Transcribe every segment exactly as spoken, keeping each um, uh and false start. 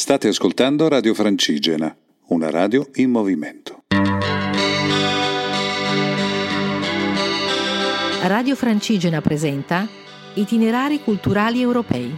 State ascoltando Radio Francigena, una radio in movimento. Radio Francigena presenta Itinerari culturali europei.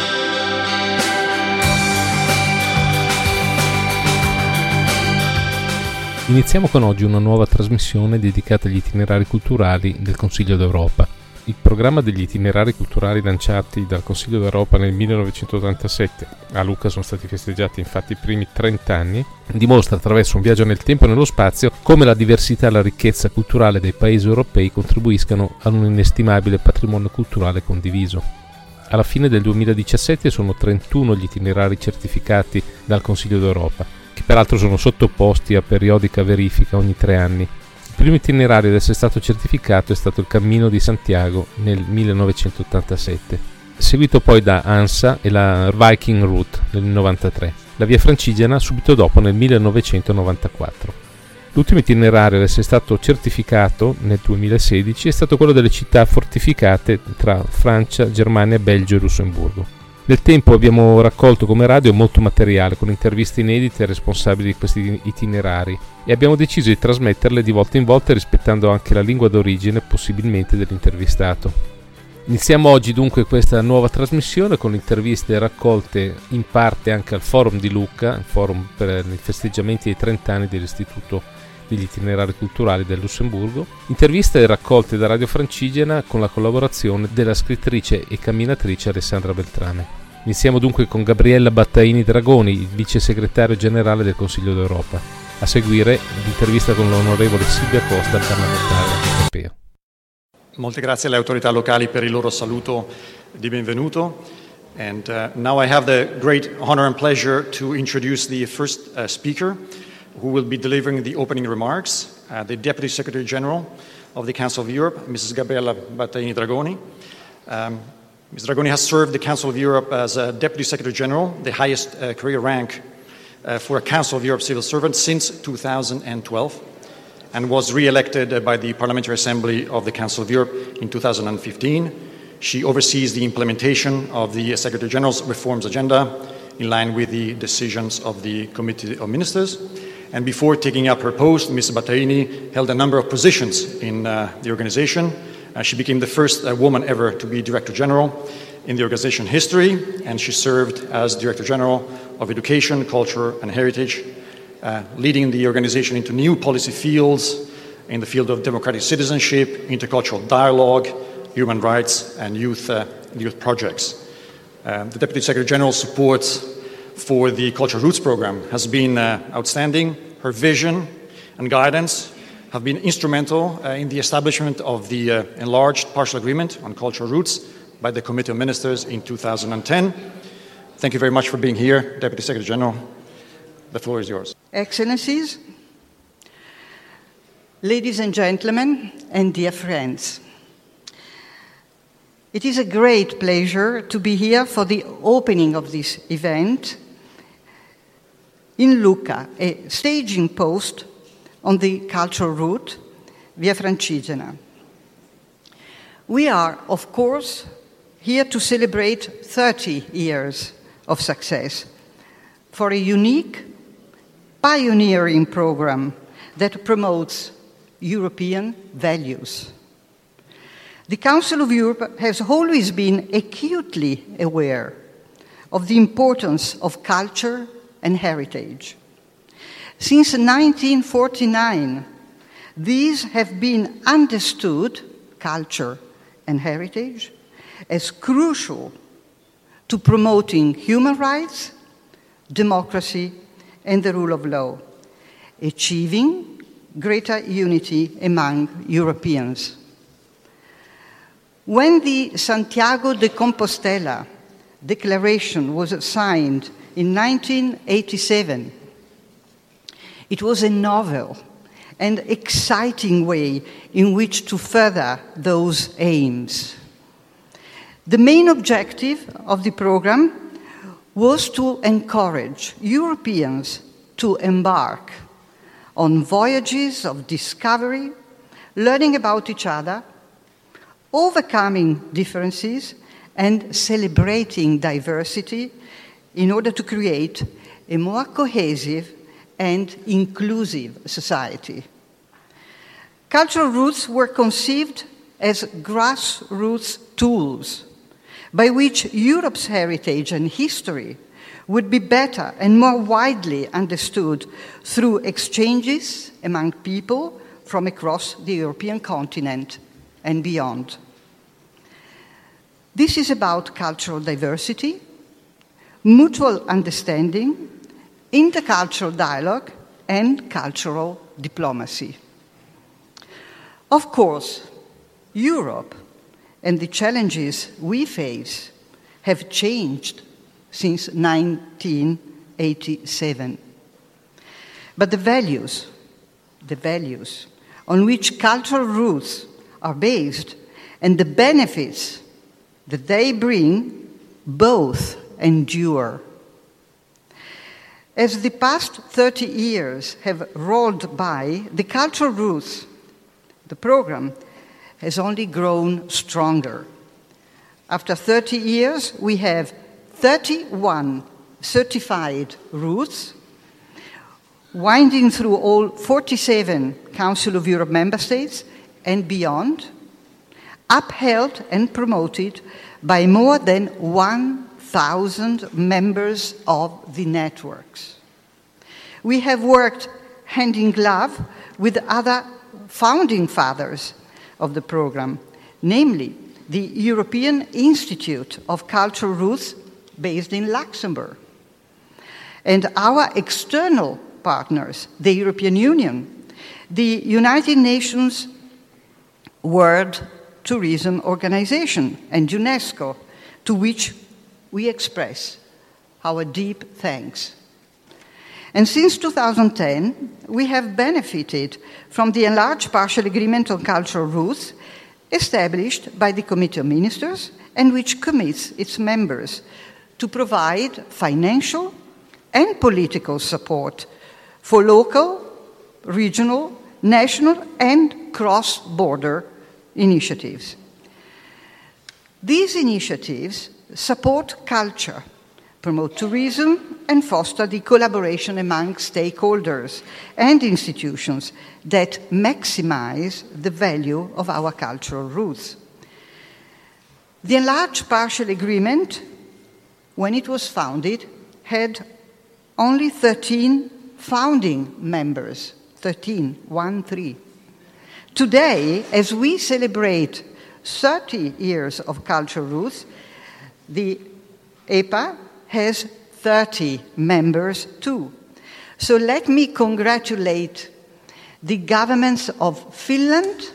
Iniziamo con oggi una nuova trasmissione dedicata agli itinerari culturali del Consiglio d'Europa. Il programma degli itinerari culturali lanciati dal Consiglio d'Europa nel millenovecentottantasette, a Lucca sono stati festeggiati infatti i primi trenta anni, dimostra attraverso un viaggio nel tempo e nello spazio come la diversità e la ricchezza culturale dei paesi europei contribuiscano ad un inestimabile patrimonio culturale condiviso. Alla fine del duemiladiciassette sono trentuno gli itinerari certificati dal Consiglio d'Europa, che peraltro sono sottoposti a periodica verifica ogni tre anni. Il primo itinerario ad essere stato certificato è stato il Cammino di Santiago nel millenovecentottantasette, seguito poi da ANSA e la Viking Route nel novantatré, la Via Francigena subito dopo nel millenovecentonovantaquattro. L'ultimo itinerario ad essere stato certificato nel duemilasedici è stato quello delle città fortificate tra Francia, Germania, Belgio e Lussemburgo. Nel tempo abbiamo raccolto come radio molto materiale con interviste inedite ai responsabili di questi itinerari e abbiamo deciso di trasmetterle di volta in volta rispettando anche la lingua d'origine possibilmente dell'intervistato. Iniziamo oggi dunque questa nuova trasmissione con interviste raccolte in parte anche al Forum di Lucca, il forum per i festeggiamenti dei trenta anni dell'Istituto degli Itinerari Culturali del Lussemburgo, interviste raccolte da Radio Francigena con la collaborazione della scrittrice e camminatrice Alessandra Beltrame. Iniziamo dunque con Gabriella Battaini Dragoni, il vice segretario generale del Consiglio d'Europa. A seguire l'intervista con l'onorevole Silvia Costa, parlamentare europeo. Molte grazie alle autorità locali per il loro saluto di benvenuto. And uh, now I have the great honor and pleasure to introduce the first uh, speaker who will be delivering the opening remarks, uh, the Deputy Secretary General of the Council of Europe, Missus Gabriella Battaini Dragoni. Um, Miz Dragoni has served the Council of Europe as a Deputy Secretary General, the highest uh, career rank uh, for a Council of Europe civil servant since two thousand twelve, and was re-elected uh, by the Parliamentary Assembly of the Council of Europe in two thousand fifteen. She oversees the implementation of the Secretary General's reforms agenda in line with the decisions of the Committee of Ministers. And before taking up her post, Miz Battaini held a number of positions in uh, the organization. Uh, she became the first uh, woman ever to be Director General in the organization history, and she served as Director General of Education, Culture and Heritage, uh, leading the organization into new policy fields in the field of democratic citizenship, intercultural dialogue, human rights and youth, uh, youth projects. Uh, the Deputy Secretary General supports for the Cultural Roots program has been uh, outstanding. Her vision and guidance have been instrumental uh, in the establishment of the uh, enlarged partial agreement on cultural roots by the Committee of Ministers in two thousand ten. Thank you very much for being here, Deputy Secretary General. The floor is yours. Excellencies, ladies and gentlemen, and dear friends. It is a great pleasure to be here for the opening of this event in Lucca, a staging post on the cultural route Via Francigena. We are, of course, here to celebrate thirty years of success for a unique, pioneering program that promotes European values. The Council of Europe has always been acutely aware of the importance of culture and heritage. Since nineteen forty-nine, these have been understood, culture and heritage, as crucial to promoting human rights, democracy, and the rule of law, achieving greater unity among Europeans. When the Santiago de Compostela Declaration was signed in nineteen eighty-seven, it was a novel and exciting way in which to further those aims. The main objective of the program was to encourage Europeans to embark on voyages of discovery, learning about each other, overcoming differences, and celebrating diversity in order to create a more cohesive and inclusive society. Cultural roots were conceived as grassroots tools by which Europe's heritage and history would be better and more widely understood through exchanges among people from across the European continent and beyond. This is about cultural diversity, mutual understanding, intercultural dialogue, and cultural diplomacy. Of course, Europe and the challenges we face have changed since nineteen eighty-seven. But the values, the values on which cultural roots are based and the benefits that they bring both endure. As the past thirty years have rolled by, the cultural roots, the program, has only grown stronger. After thirty years, we have thirty-one certified roots, winding through all forty-seven Council of Europe member states and beyond, upheld and promoted by more than one thousand members of the networks. We have worked hand in glove with other founding fathers of the program, namely the European Institute of Cultural Roots based in Luxembourg, and our external partners, the European Union, the United Nations World Tourism Organization, and UNESCO, to which we express our deep thanks. And since two thousand ten, we have benefited from the enlarged partial agreement on cultural roots established by the Committee of Ministers and which commits its members to provide financial and political support for local, regional, national, and cross-border initiatives. These initiatives support culture, promote tourism, and foster the collaboration among stakeholders and institutions that maximize the value of our cultural roots. The enlarged partial agreement, when it was founded, had only thirteen founding members, thirteen, one, three. Today, as we celebrate thirty years of cultural roots, the E P A has thirty members too. So let me congratulate the governments of Finland,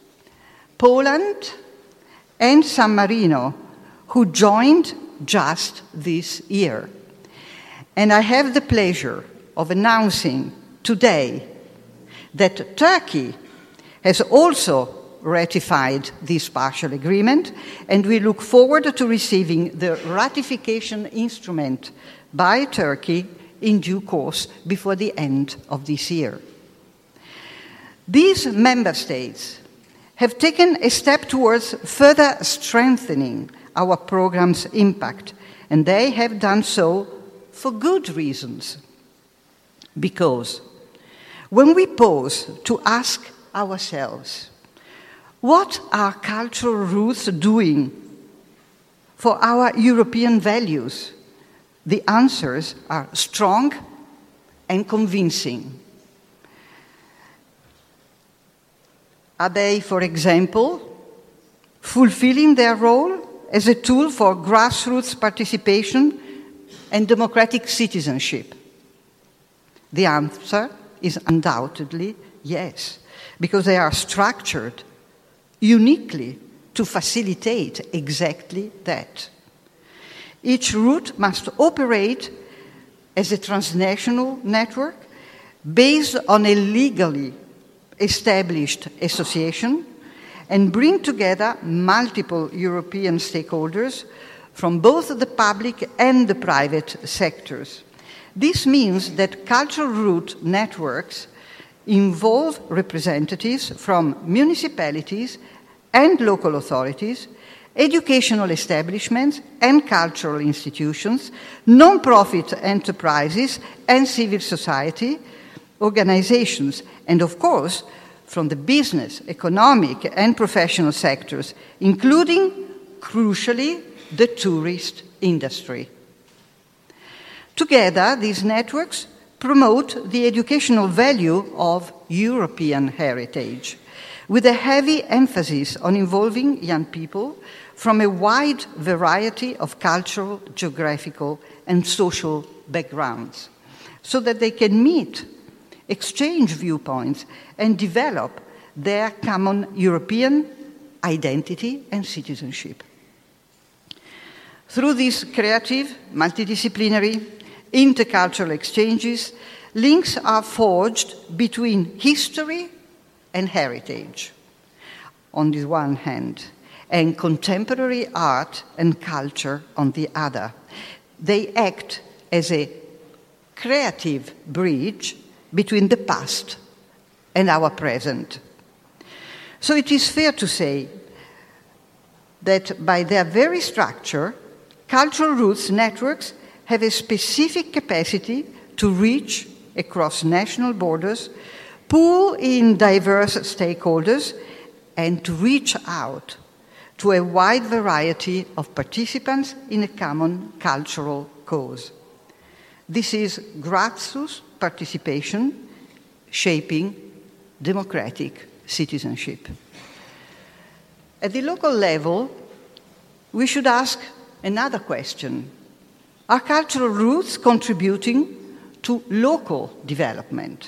Poland, and San Marino, who joined just this year. And I have the pleasure of announcing today that Turkey has also ratified this partial agreement, and we look forward to receiving the ratification instrument by Turkey in due course before the end of this year. These member states have taken a step towards further strengthening our program's impact, and they have done so for good reasons. Because when we pause to ask ourselves, what are cultural roots doing for our European values? The answers are strong and convincing. Are they, for example, fulfilling their role as a tool for grassroots participation and democratic citizenship? The answer is undoubtedly yes, because they are structured uniquely to facilitate exactly that. Each route must operate as a transnational network based on a legally established association and bring together multiple European stakeholders from both the public and the private sectors. This means that cultural route networks involve representatives from municipalities and local authorities, educational establishments and cultural institutions, non-profit enterprises and civil society organizations, and of course, from the business, economic, and professional sectors, including, crucially, the tourist industry. Together, these networks promote the educational value of European heritage, with a heavy emphasis on involving young people from a wide variety of cultural, geographical, and social backgrounds, so that they can meet, exchange viewpoints, and develop their common European identity and citizenship. Through these creative, multidisciplinary, intercultural exchanges, links are forged between history and heritage, on the one hand, and contemporary art and culture on the other. They act as a creative bridge between the past and our present. So it is fair to say that by their very structure, cultural roots networks have a specific capacity to reach across national borders, pull in diverse stakeholders, and to reach out to a wide variety of participants in a common cultural cause. This is grassroots participation shaping democratic citizenship. At the local level, we should ask another question. Are cultural roots contributing to local development?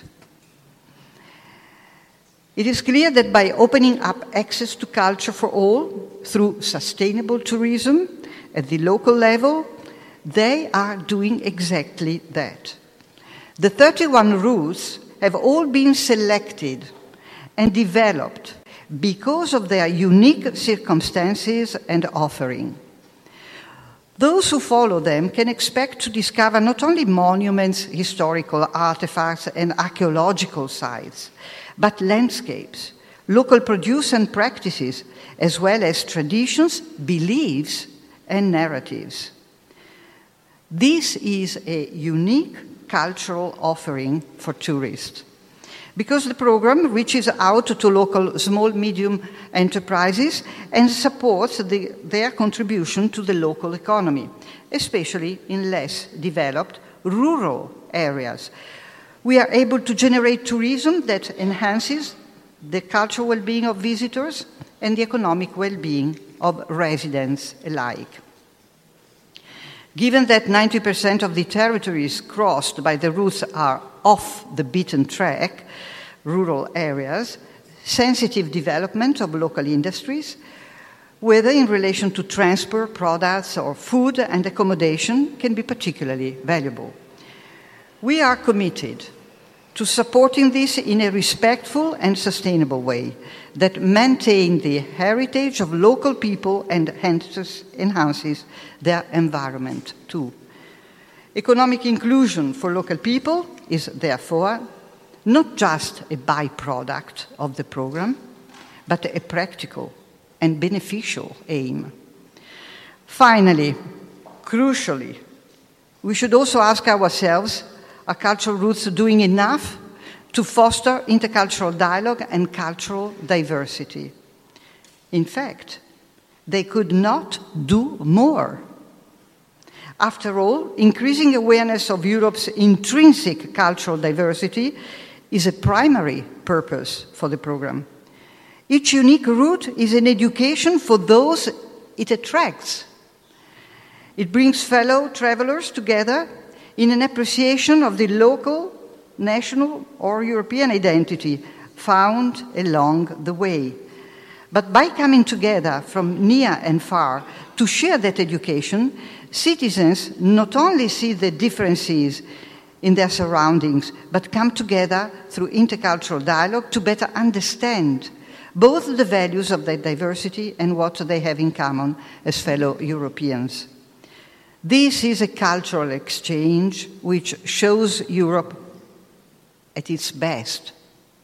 It is clear that by opening up access to culture for all through sustainable tourism at the local level, they are doing exactly that. The thirty-one routes have all been selected and developed because of their unique circumstances and offering. Those who follow them can expect to discover not only monuments, historical artifacts, and archaeological sites, but landscapes, local produce and practices, as well as traditions, beliefs, and narratives. This is a unique cultural offering for tourists, because the program reaches out to local small, medium enterprises and supports the, their contribution to the local economy, especially in less developed rural areas. We are able to generate tourism that enhances the cultural well-being of visitors and the economic well-being of residents alike. Given that ninety percent of the territories crossed by the routes are off the beaten track, rural areas, sensitive development of local industries, whether in relation to transport, products, or food and accommodation, can be particularly valuable. We are committed to supporting this in a respectful and sustainable way that maintains the heritage of local people and enhances their environment too. Economic inclusion for local people is therefore not just a byproduct of the program, but a practical and beneficial aim. Finally, crucially, we should also ask ourselves, are cultural roots doing enough to foster intercultural dialogue and cultural diversity? In fact, they could not do more. After all, increasing awareness of Europe's intrinsic cultural diversity is a primary purpose for the program. Each unique route is an education for those it attracts. It brings fellow travelers together in an appreciation of the local, national, or European identity found along the way. But by coming together from near and far to share that education, citizens not only see the differences in their surroundings, but come together through intercultural dialogue to better understand both the values of their diversity and what they have in common as fellow Europeans. This is a cultural exchange which shows Europe at its best.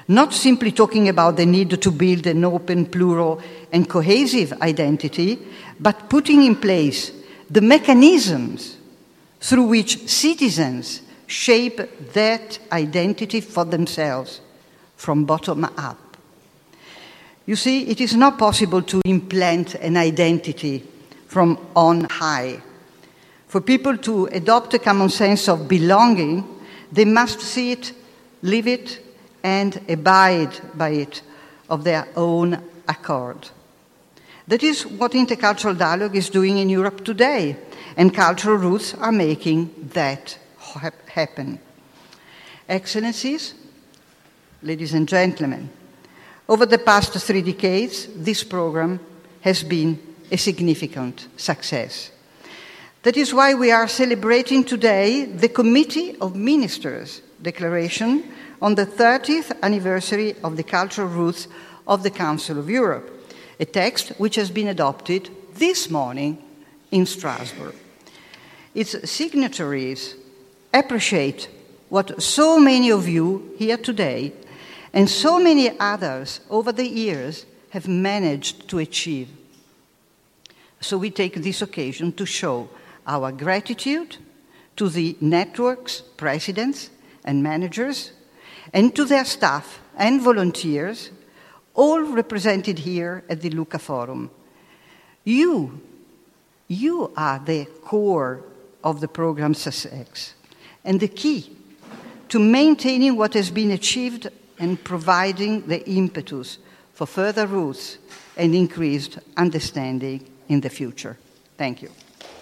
not simply talking about the need to build an open, plural, and cohesive identity, but putting in place the mechanisms through which citizens shape that identity for themselves from bottom up. You see, it is not possible to implant an identity from on high. For people to adopt a common sense of belonging, they must see it, live it, and abide by it of their own accord. That is what intercultural dialogue is doing in Europe today, and cultural roots are making that ha- happen. Excellencies, ladies and gentlemen, over the past three decades, this program has been a significant success. That is why we are celebrating today the Committee of Ministers declaration on the thirtieth anniversary of the cultural roots of the Council of Europe, a text which has been adopted this morning in Strasbourg. Its signatories appreciate what so many of you here today and so many others over the years have managed to achieve. So we take this occasion to show our gratitude to the network's presidents and managers, and to their staff and volunteers, all represented here at the Lucca Forum. You, you are the core of the program's success and the key to maintaining what has been achieved and providing the impetus for further roots and increased understanding in the future. Thank you.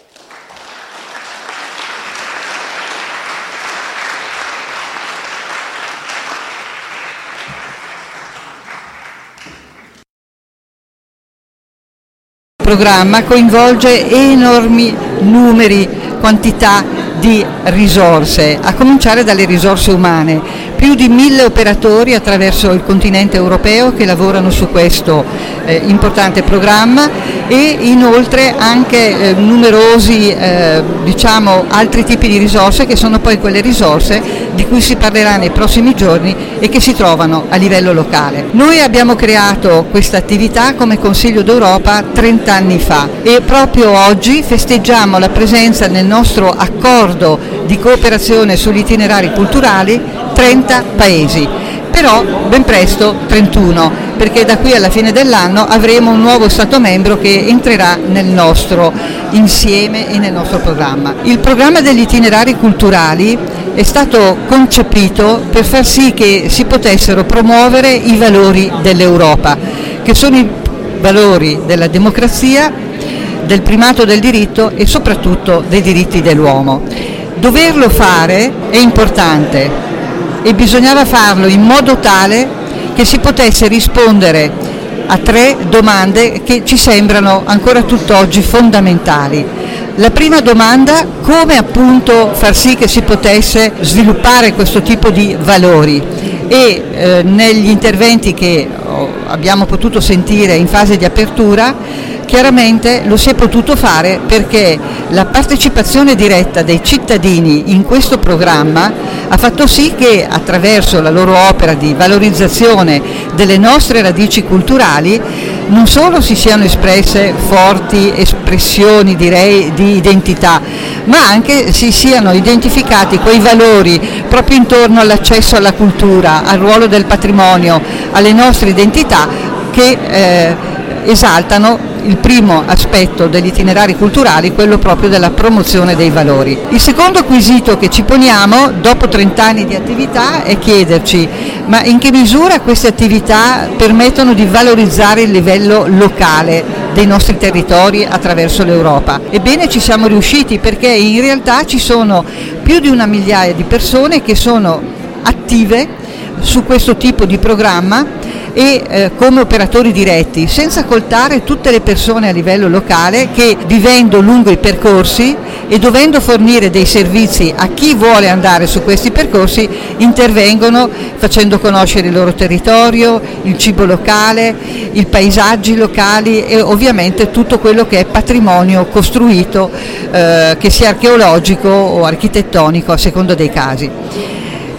Il programma coinvolge enormi numeri, quantità di risorse, a cominciare dalle risorse umane. Più di mille operatori attraverso il continente europeo che lavorano su questo eh, importante programma e inoltre anche eh, numerosi eh, diciamo altri tipi di risorse che sono poi quelle risorse di cui si parlerà nei prossimi giorni e che si trovano a livello locale. Noi abbiamo creato questa attività come Consiglio d'Europa trent'anni fa e proprio oggi festeggiamo la presenza nel nostro accordo di cooperazione sugli itinerari culturali trenta paesi, però ben presto trentuno, perché da qui alla fine dell'anno avremo un nuovo Stato membro che entrerà nel nostro insieme e nel nostro programma. Il programma degli itinerari culturali è stato concepito per far sì che si potessero promuovere i valori dell'Europa, che sono i valori della democrazia, del primato del diritto e soprattutto dei diritti dell'uomo. Doverlo fare è importante e bisognava farlo in modo tale che si potesse rispondere a tre domande che ci sembrano ancora tutt'oggi fondamentali. La prima domanda: come appunto far sì che si potesse sviluppare questo tipo di valori? E eh, negli interventi che oh, abbiamo potuto sentire in fase di apertura, chiaramente lo si è potuto fare perché la partecipazione diretta dei cittadini in questo programma ha fatto sì che attraverso la loro opera di valorizzazione delle nostre radici culturali non solo si siano espresse forti espressioni, direi, di identità, ma anche si siano identificati quei valori proprio intorno all'accesso alla cultura, al ruolo del patrimonio, alle nostre identità che eh, esaltano il primo aspetto degli itinerari culturali, quello proprio della promozione dei valori. Il secondo quesito che ci poniamo dopo trent'anni di attività è chiederci: ma in che misura queste attività permettono di valorizzare il livello locale dei nostri territori attraverso l'Europa? Ebbene, ci siamo riusciti, perché in realtà ci sono più di una migliaia di persone che sono attive su questo tipo di programma e eh, come operatori diretti, senza contare tutte le persone a livello locale che, vivendo lungo i percorsi e dovendo fornire dei servizi a chi vuole andare su questi percorsi, intervengono facendo conoscere il loro territorio, il cibo locale, i paesaggi locali e ovviamente tutto quello che è patrimonio costruito, eh, che sia archeologico o architettonico a seconda dei casi.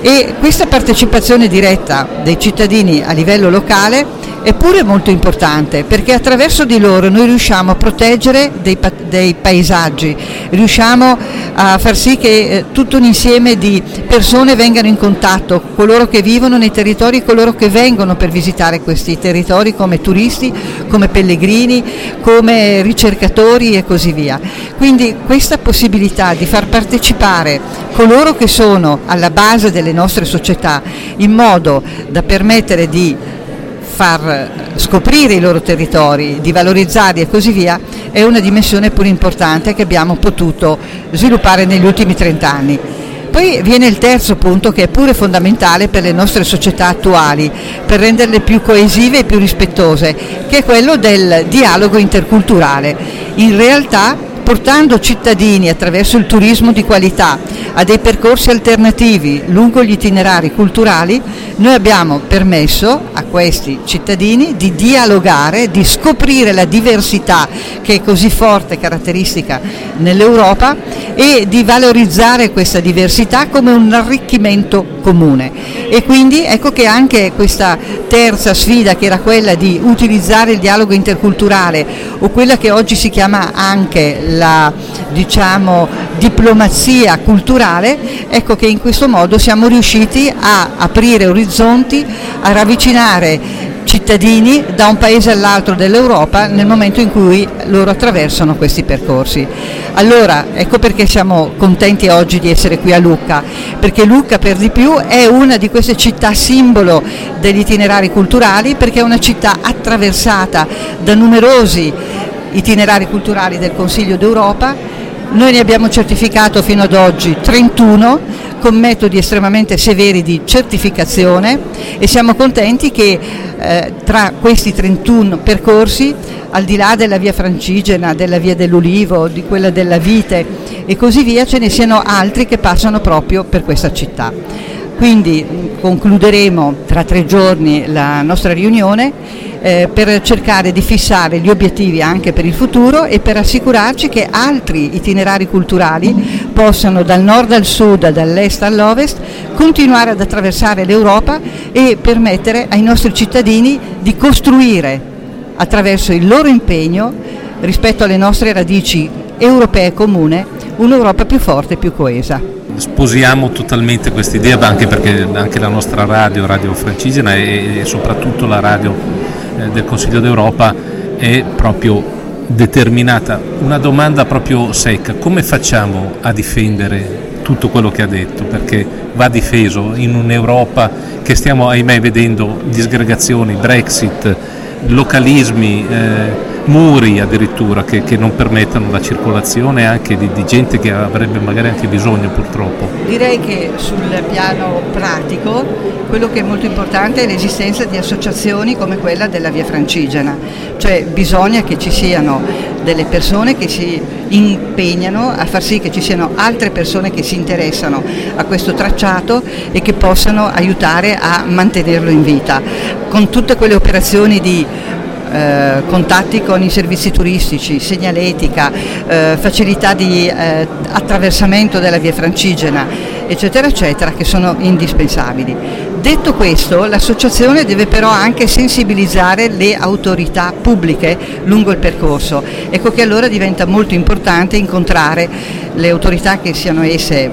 E questa partecipazione diretta dei cittadini a livello locale è pure molto importante, perché attraverso di loro noi riusciamo a proteggere dei, dei paesaggi, riusciamo a far sì che eh, tutto un insieme di persone vengano in contatto, coloro che vivono nei territori, coloro che vengono per visitare questi territori come turisti, come pellegrini, come ricercatori e così via. Quindi questa possibilità di far partecipare coloro che sono alla base delle nostre società in modo da permettere di far scoprire i loro territori, di valorizzarli e così via, è una dimensione pure importante che abbiamo potuto sviluppare negli ultimi trent'anni. Poi viene il terzo punto, che è pure fondamentale per le nostre società attuali, per renderle più coesive e più rispettose, che è quello del dialogo interculturale. In realtà, portando cittadini attraverso il turismo di qualità a dei percorsi alternativi lungo gli itinerari culturali, noi abbiamo permesso a questi cittadini di dialogare, di scoprire la diversità che è così forte e caratteristica nell'Europa e di valorizzare questa diversità come un arricchimento comune. E quindi ecco che anche questa terza sfida, che era quella di utilizzare il dialogo interculturale, o quella che oggi si chiama anche la, diciamo, diplomazia culturale, ecco che in questo modo siamo riusciti a aprire orizzonti, a ravvicinare cittadini da un paese all'altro dell'Europa nel momento in cui loro attraversano questi percorsi. Allora, ecco perché siamo contenti oggi di essere qui a Lucca, perché Lucca per di più è una di queste città simbolo degli itinerari culturali, perché è una città attraversata da numerosi itinerari culturali del Consiglio d'Europa. Noi ne abbiamo certificato fino ad oggi trentuno con metodi estremamente severi di certificazione, e siamo contenti che eh, tra questi trentuno percorsi, al di là della via Francigena, della via dell'Ulivo, di quella della Vite e così via, ce ne siano altri che passano proprio per questa città. Quindi concluderemo tra tre giorni la nostra riunione eh, per cercare di fissare gli obiettivi anche per il futuro e per assicurarci che altri itinerari culturali possano dal nord al sud, dall'est all'ovest, continuare ad attraversare l'Europa e permettere ai nostri cittadini di costruire attraverso il loro impegno rispetto alle nostre radici europee comune un'Europa più forte e più coesa. Sposiamo totalmente questa idea, anche perché anche la nostra radio, Radio Francigena e, e soprattutto la radio eh, del Consiglio d'Europa è proprio determinata. Una domanda proprio secca: come facciamo a difendere tutto quello che ha detto? Perché va difeso in un'Europa che stiamo ahimè vedendo disgregazioni, Brexit, localismi, eh, muri addirittura che, che non permettono la circolazione anche di, di gente che avrebbe magari anche bisogno, purtroppo. Direi che sul piano pratico quello che è molto importante è l'esistenza di associazioni come quella della Via Francigena, cioè bisogna che ci siano delle persone che si impegnano a far sì che ci siano altre persone che si interessano a questo tracciato e che possano aiutare a mantenerlo in vita, con tutte quelle operazioni di Eh, contatti con i servizi turistici, segnaletica, eh, facilità di eh, attraversamento della Via Francigena, eccetera eccetera, che sono indispensabili. Detto questo, l'associazione deve però anche sensibilizzare le autorità pubbliche lungo il percorso. Ecco che allora diventa molto importante incontrare le autorità, che siano esse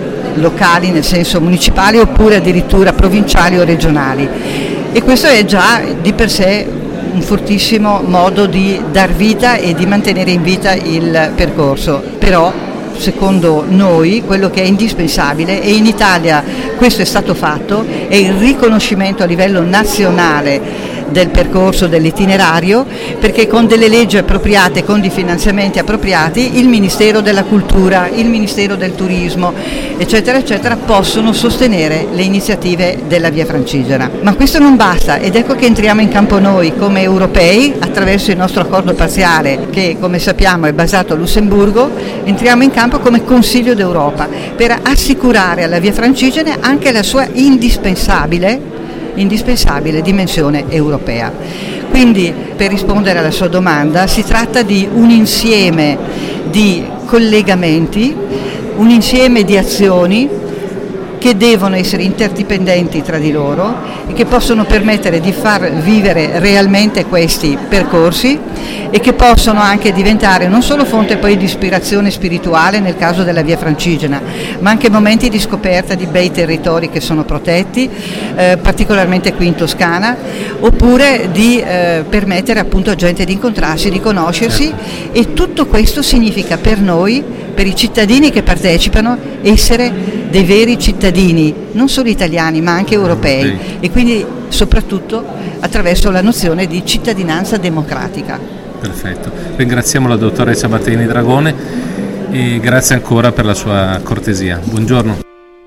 locali nel senso municipali oppure addirittura provinciali o regionali, e questo è già di per sé un fortissimo modo di dar vita e di mantenere in vita il percorso. Però secondo noi quello che è indispensabile, e in Italia questo è stato fatto, è il riconoscimento a livello nazionale del percorso, dell'itinerario, perché con delle leggi appropriate, con dei finanziamenti appropriati, il Ministero della Cultura, il Ministero del Turismo, eccetera eccetera, possono sostenere le iniziative della Via Francigena. Ma questo non basta, ed ecco che entriamo in campo noi come europei attraverso il nostro accordo parziale, che come sappiamo è basato a Lussemburgo. Entriamo in campo come Consiglio d'Europa per assicurare alla Via Francigena anche la sua indispensabile indispensabile dimensione europea. Quindi, per rispondere alla sua domanda, si tratta di un insieme di collegamenti, un insieme di azioni che devono essere interdipendenti tra di loro e che possono permettere di far vivere realmente questi percorsi e che possono anche diventare non solo fonte poi di ispirazione spirituale nel caso della Via Francigena, ma anche momenti di scoperta di bei territori che sono protetti, eh, particolarmente qui in Toscana, oppure di eh, permettere appunto a gente di incontrarsi, di conoscersi, e tutto questo significa per noi, per i cittadini che partecipano, essere dei veri cittadini, non solo italiani ma anche europei, e quindi soprattutto attraverso la nozione di cittadinanza democratica. Perfetto, ringraziamo la dottoressa Batteni Dragone e grazie ancora per la sua cortesia. Buongiorno.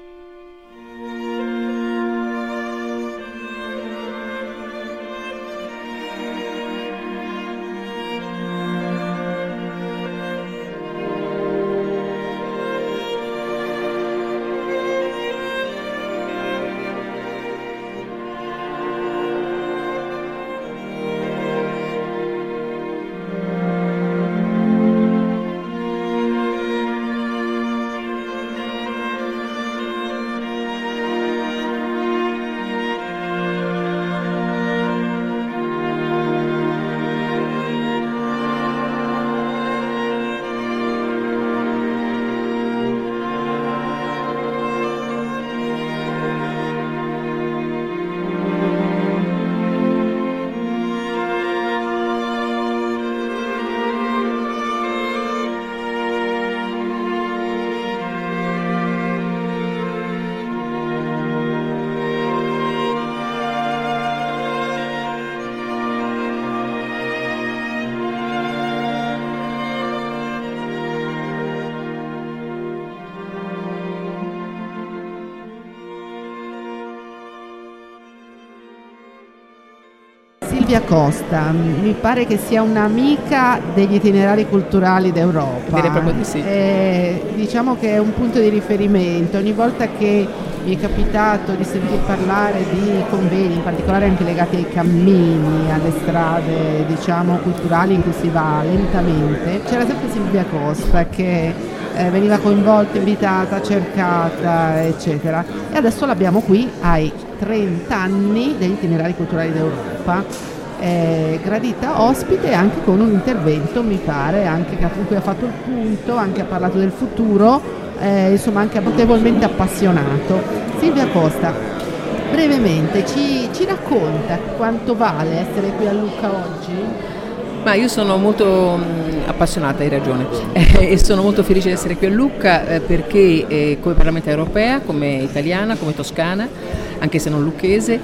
Silvia Costa, mi pare che sia un'amica degli itinerari culturali d'Europa. Direi proprio di sì. Eh, diciamo che è un punto di riferimento. Ogni volta che mi è capitato di sentir parlare di convegni, in particolare anche legati ai cammini, alle strade, diciamo, culturali in cui si va lentamente, c'era sempre Silvia Costa che eh, veniva coinvolta, invitata, cercata, eccetera. E adesso l'abbiamo qui ai trenta anni degli itinerari culturali d'Europa. Eh, gradita ospite anche con un intervento, mi pare, anche che in cui ha fatto il punto, anche ha parlato del futuro, eh, insomma anche notevolmente appassionato. Silvia Costa, brevemente ci, ci racconta quanto vale essere qui a Lucca oggi? Ma io sono molto mh, appassionata, hai ragione, eh, e sono molto felice di essere qui a Lucca eh, perché eh, come parlamentaria europea, come italiana, come toscana, anche se non lucchese,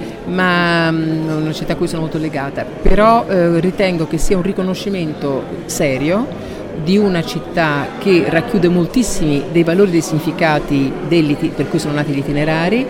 ma mh, una città a cui sono molto legata, però eh, ritengo che sia un riconoscimento serio di una città che racchiude moltissimi dei valori e dei significati per cui sono nati gli itinerari,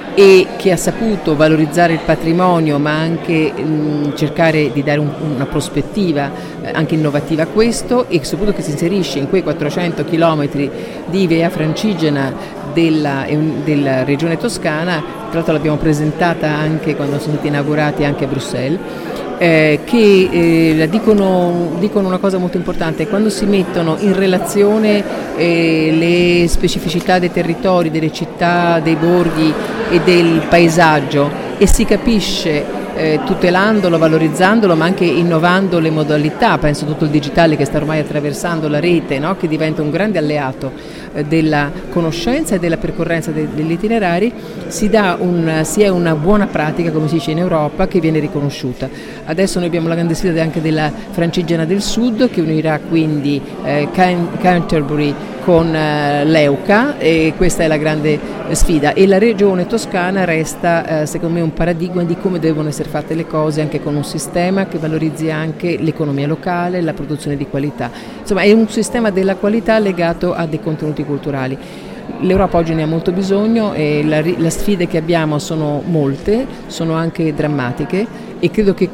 e che ha saputo valorizzare il patrimonio, ma anche mh, cercare di dare un, una prospettiva eh, anche innovativa a questo, e soprattutto che si inserisce in quei quattrocento chilometri di Via Francigena della, della regione toscana. Tra l'altro l'abbiamo presentata anche quando sono stati inaugurati anche a Bruxelles. Eh, che eh, dicono, dicono una cosa molto importante: quando si mettono in relazione eh, le specificità dei territori, delle città, dei borghi e del paesaggio, e si capisce eh, tutelandolo, valorizzandolo, ma anche innovando le modalità, penso tutto il digitale che sta ormai attraversando la rete, no? Che diventa un grande alleato eh, della conoscenza e della percorrenza de- degli itinerari, si dà un, si è una buona pratica, come si dice in Europa, che viene riconosciuta. Adesso noi abbiamo la grande sfida anche della Francigena del Sud, che unirà quindi eh, Can- Canterbury con eh, Leuca, e questa è la grande sfida, e la regione toscana resta eh, secondo me un paradigma di come devono essere fatte le cose, anche con un sistema che valorizzi anche l'economia locale, la produzione di qualità. Insomma, è un sistema della qualità legato a dei contenuti culturali. L'Europa oggi ne ha molto bisogno e la, le sfide che abbiamo sono molte, sono anche drammatiche, e credo che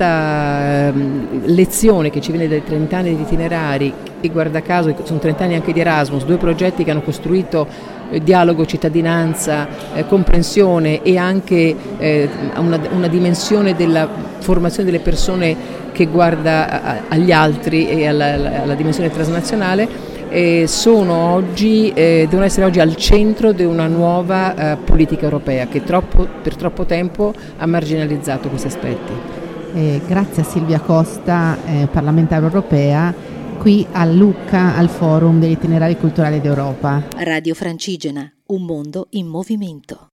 questa um, lezione che ci viene dai trenta anni di itinerari, e guarda caso sono trenta anni anche di Erasmus, due progetti che hanno costruito eh, dialogo, cittadinanza, eh, comprensione e anche eh, una, una dimensione della formazione delle persone che guarda a, agli altri e alla, alla dimensione transnazionale, eh, sono oggi, eh, devono essere oggi al centro di una nuova eh, politica europea che troppo, per troppo tempo ha marginalizzato questi aspetti. Eh, grazie a Silvia Costa, eh, parlamentare europea, qui a Lucca al Forum degli Itinerari Culturali d'Europa. Radio Francigena, un mondo in movimento.